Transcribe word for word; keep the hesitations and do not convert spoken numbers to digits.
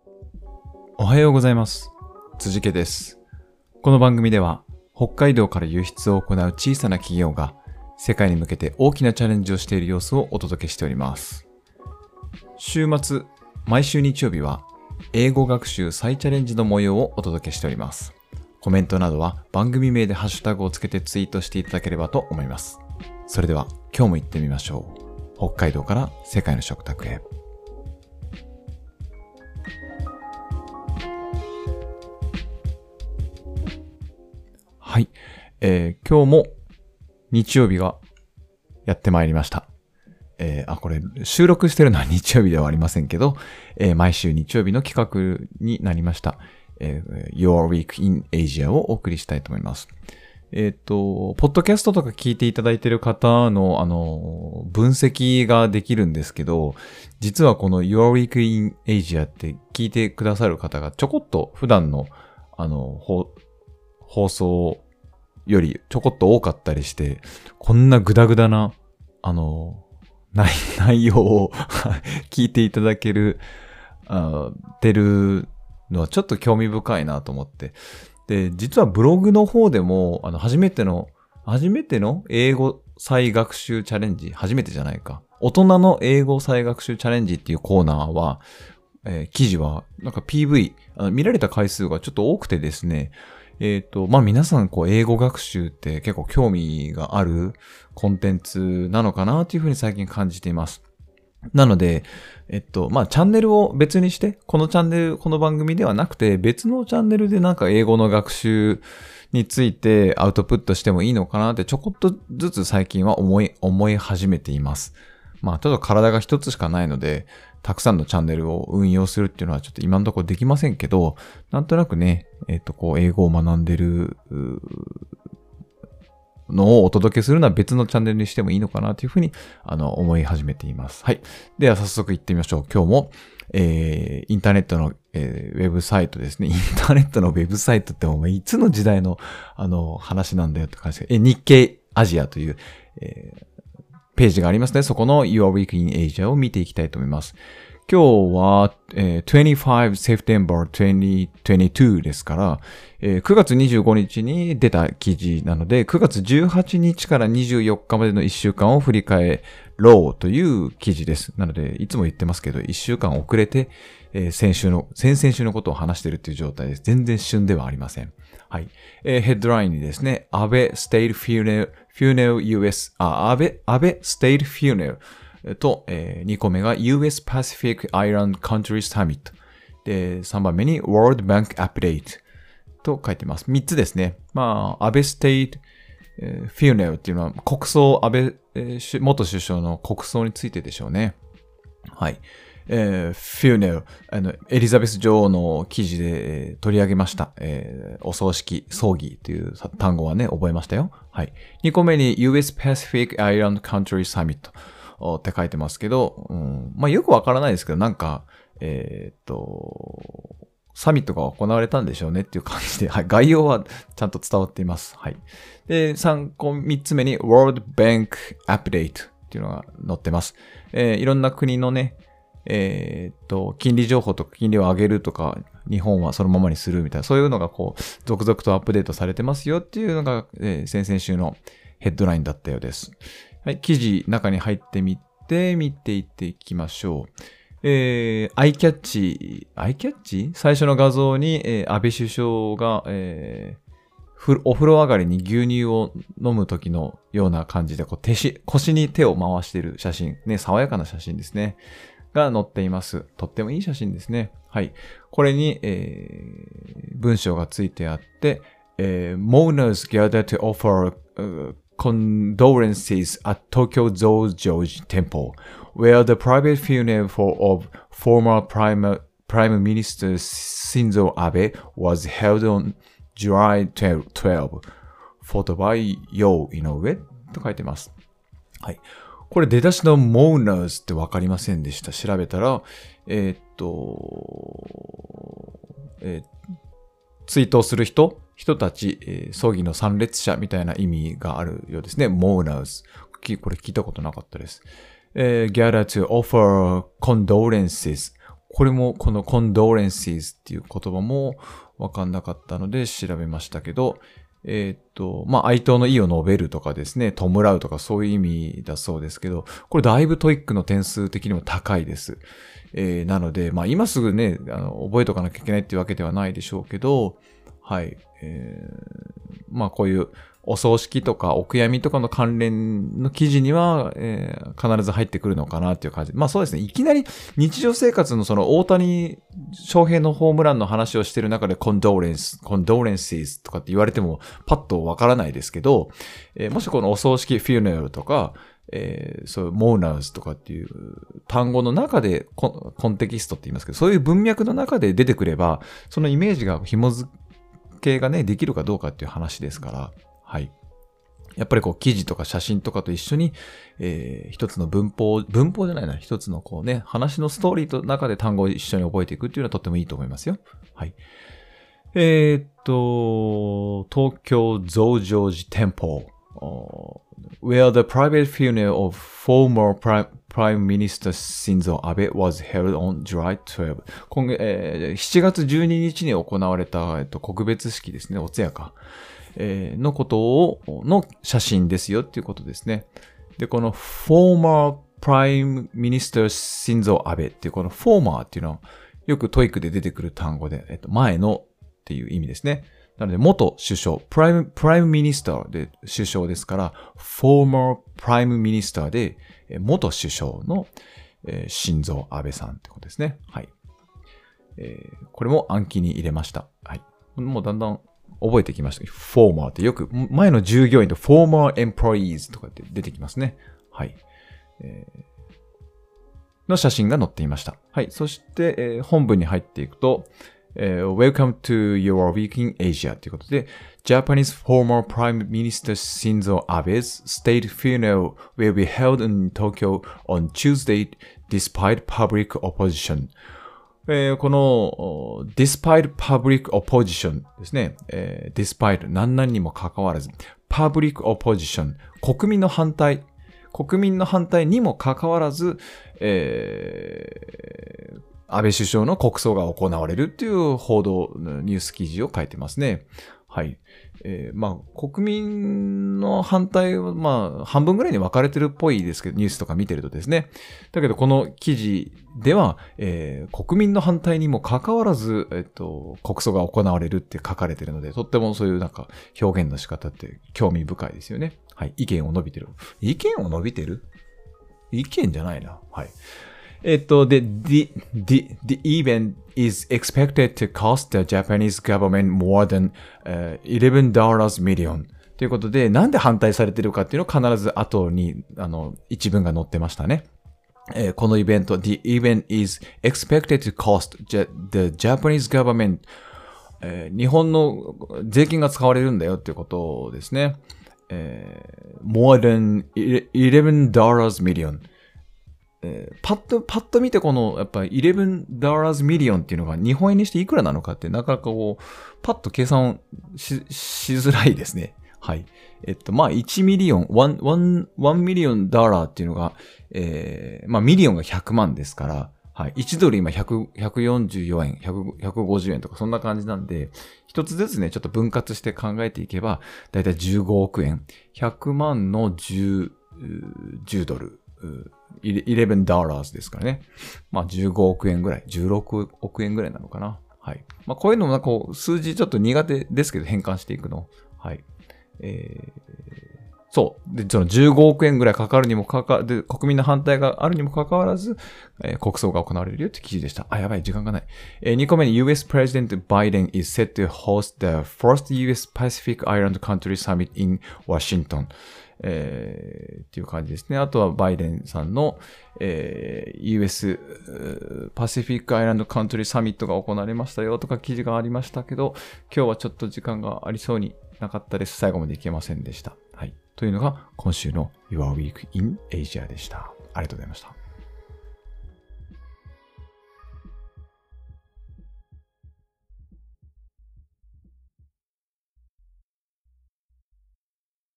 おはようございます。辻家です。この番組では北海道から輸出を行う小さな企業が世界に向けて大きなチャレンジをしている様子をお届けしております。週末、毎週日曜日は英語学習再チャレンジの模様をお届けしております。コメントなどは番組名でハッシュタグをつけてツイートしていただければと思います。それでは今日も行ってみましょう。北海道から世界の食卓へ。はい、えー、今日も日曜日がやってまいりました。えー、あ、これ収録してるのは日曜日ではありませんけど、えー、毎週日曜日の企画になりました、えー、Your Week in Asia をお送りしたいと思います。えっと、ポッドキャストとか聞いていただいている方の、あの、分析ができるんですけど、実はこの Your Week in Asia って聞いてくださる方がちょこっと普段の、あの、放送よりちょこっと多かったりして、こんなグダグダな、あの、内, 内容を聞いていただける、あてるのはちょっと興味深いなと思って。で、実はブログの方でも、あの、初めての、初めての英語再学習チャレンジ、初めてじゃないか。大人の英語再学習チャレンジっていうコーナーは、えー、記事は、なんか ピーブイ、あの見られた回数がちょっと多くてですね、えっと、まあ、皆さん、こう、英語学習って結構興味があるコンテンツなのかなというふうに最近感じています。なので、えっと、まあ、チャンネルを別にして、このチャンネル、この番組ではなくて、別のチャンネルでなんか英語の学習についてアウトプットしてもいいのかなってちょこっとずつ最近は思い、思い始めています。まあ、ちょっと体が一つしかないので、たくさんのチャンネルを運用するっていうのはちょっと今のところできませんけど、なんとなくね、えっと、こう、英語を学んでるのをお届けするのは別のチャンネルにしてもいいのかなというふうに、あの、思い始めています。はい。では早速行ってみましょう。今日も、えー、インターネットの、えー、ウェブサイトですね。インターネットのウェブサイトってもういつの時代の、あの、話なんだよって感じで、え、日経アジアという、えーページがありますね。そこの Your Week in Asia を見ていきたいと思います。今日は、えー、にじゅうご September にせんにじゅうにですから、えー、くがつにじゅうごにちに出た記事なので、くがつじゅうはちにちからにじゅうよっかまでのいっしゅうかんを振り返ろうという記事です。なので、いつも言ってますけど、いっしゅうかん遅れて、えー、先週の、先々週のことを話しているという状態です。全然旬ではありません。はい。えー、ヘッドラインにですね、安倍 State Funeral, Funeral ユーエス、あ、安倍、安倍 State Funeral と、えー、にこめが ユーエス Pacific Island Countries Summit。で、さんばんめに World Bank Update と書いてます。みっつですね。まあ、安倍 State Funeral っていうのは国葬、安倍、えー、元首相の国葬についてでしょうね。はい。えー、funeral、あの、エリザベス女王の記事で、えー、取り上げました。えー、お葬式、葬儀という単語はね、覚えましたよ。はい。にこめに ユーエス Pacific Island Country Summit って書いてますけど、うん、まあよくわからないですけど、なんか、えー、っと、サミットが行われたんでしょうねっていう感じで、はい。概要はちゃんと伝わっています。はい。で、さんこ、みっつめに World Bank Update っていうのが載ってます。えー、いろんな国のね、えー、っと、金利情報とか金利を上げるとか、日本はそのままにするみたいな、そういうのがこう、続々とアップデートされてますよっていうのが、えー、先々週のヘッドラインだったようです。はい、記事中に入ってみて、見ていっていきましょう。えー、アイキャッチ、アイキャッチ最初の画像に、えー、安倍首相が、えー、お風呂上がりに牛乳を飲む時のような感じで、こう手し、腰に手を回している写真。ね、爽やかな写真ですね。が載っています。とってもいい写真ですね。はい。これに、えー、文章がついてあって、えー、mourners gather to offer、uh, condolences at Tokyo Zojoji Temple, where the private funeral for, of former Prime, Prime Minister Shinzo Abe was held on July twelfth. Photo by Yo Inoue と書いてます。はい。これ出だしの mourners ってわかりませんでした。調べたら、えー、っと、えー、追悼する人、人たち、えー、葬儀の参列者みたいな意味があるようですね。mourners。これ聞いたことなかったです。えー、gather to offer condolences。 これもこの condolences っていう言葉もわかんなかったので調べましたけど、えー、っと、まあ、哀悼の意を述べるとかですね、弔うとかそういう意味だそうですけど、これだいぶトイックの点数的にも高いです。えー、なので、まあ、今すぐね、あの、覚えとかなきゃいけないっていうわけではないでしょうけど、はい。えー、まあ、こういうお葬式とかお悔やみとかの関連の記事には、えー、必ず入ってくるのかなっていう感じ。まあそうですね。いきなり日常生活のその大谷翔平のホームランの話をしている中でコンドーレンス、コンドーレンシーとかって言われてもパッとわからないですけど、えー、もしこのお葬式、フューネラルとか、えー、そういう、モーナーズとかっていう単語の中でコ、コンテキストって言いますけど、そういう文脈の中で出てくれば、そのイメージが紐付けがね、できるかどうかっていう話ですから、はい。やっぱりこう記事とか写真とかと一緒に、えー、一つの文法、文法じゃないな、一つのこうね、話のストーリーの中で単語を一緒に覚えていくっていうのはとってもいいと思いますよ。はい。えー、っと、東京増上寺店舗。Where the private funeral of former Prime, Prime Minister Shinzo Abe was held on July twelfth. 今月、えー、しちがつじゅうににちに行われた、えっと、告別式ですね、お通夜か、えー、のことを、の写真ですよっていうことですね。で、この former Prime Minister Shinzo Abe っていうこの former っていうのはよくトイックで出てくる単語で、えっと、前のっていう意味ですね。なので、元首相、プライム、プライムミニスターで首相ですから、former prime minister で、元首相の、えー、新蔵安倍さんってことですね。はい。えー、これも暗記に入れました。はい。もうだんだん覚えてきました。former ってよく、前の従業員と former employees とかって出てきますね。はい。えー、の写真が載っていました。はい。そして、えー、本文に入っていくと、Uh, Welcome to your week in Asia ということで、Japanese former Prime Minister Shinzo Abe's state funeral will be held in Tokyo on Tuesday despite public opposition. えー、この despite public opposition ですね。えー、despite 何々にもかかわらず public opposition 国民の反対国民の反対にもかかわらず、えー安倍首相の国葬が行われるっていう報道、ニュース記事を書いてますね。はい。えー、まあ、国民の反対は、まあ、半分ぐらいに分かれてるっぽいですけど、ニュースとか見てるとですね。だけど、この記事では、えー、国民の反対にもかかわらず、えっと、国葬が行われるって書かれてるので、とってもそういうなんか表現の仕方って興味深いですよね。はい。意見を述べてる。意見を述べてる？意見じゃないな。はい。えっと、で、the, the, the event is expected to cost the Japanese government more than、uh, じゅういち million ということで、なんで反対されているかっていうのを必ず後に、あの、一文が載ってましたね。えー、このイベント、the event is expected to cost the Japanese government、えー、日本の税金が使われるんだよっていうことですね。えー、more than じゅういち millionえー、パッと、パッと見てこの、やっぱりじゅういち million っていうのが日本円にしていくらなのかってなかなかこう、パッと計算し、しづらいですね。はい。えっと、まあ、いちミリオン、1、1、1ミリオンダラーっていうのが、えー、まあ、ミリオンがひゃくまんですから、はい。いちドル今ひゃく、ひゃくよんじゅうよえん、ひゃく、ひゃくごじゅうえんとかそんな感じなんで、一つずつね、ちょっと分割して考えていけば、だいたいじゅうごおくえん。ひゃくまんのじゅう、じゅうドル。じゅういちダラーですからね。まあじゅうごおくえんぐらい、じゅうろくおくえんぐらいなのかな。はい。まあこういうのもなんかこう数字ちょっと苦手ですけど変換していくの。はい。えー、そう。で、そのじゅうごおくえんぐらいかかるにもかかわらず、国民の反対があるにもかかわらず、えー、国葬が行われるよって記事でした。あ、やばい、時間がない。えー、にこめに ユーエス President Biden is set to host the first ユーエス Pacific Island Country Summit in Washington。えー、っていう感じですね。あとはバイデンさんの、えー、ユーエス パシフィックアイランドカントリーサミットが行われましたよとか記事がありましたけど、今日はちょっと時間がありそうになかったです。最後までいけませんでした。はい。というのが今週の Your Week in Asia でした。ありがとうございました。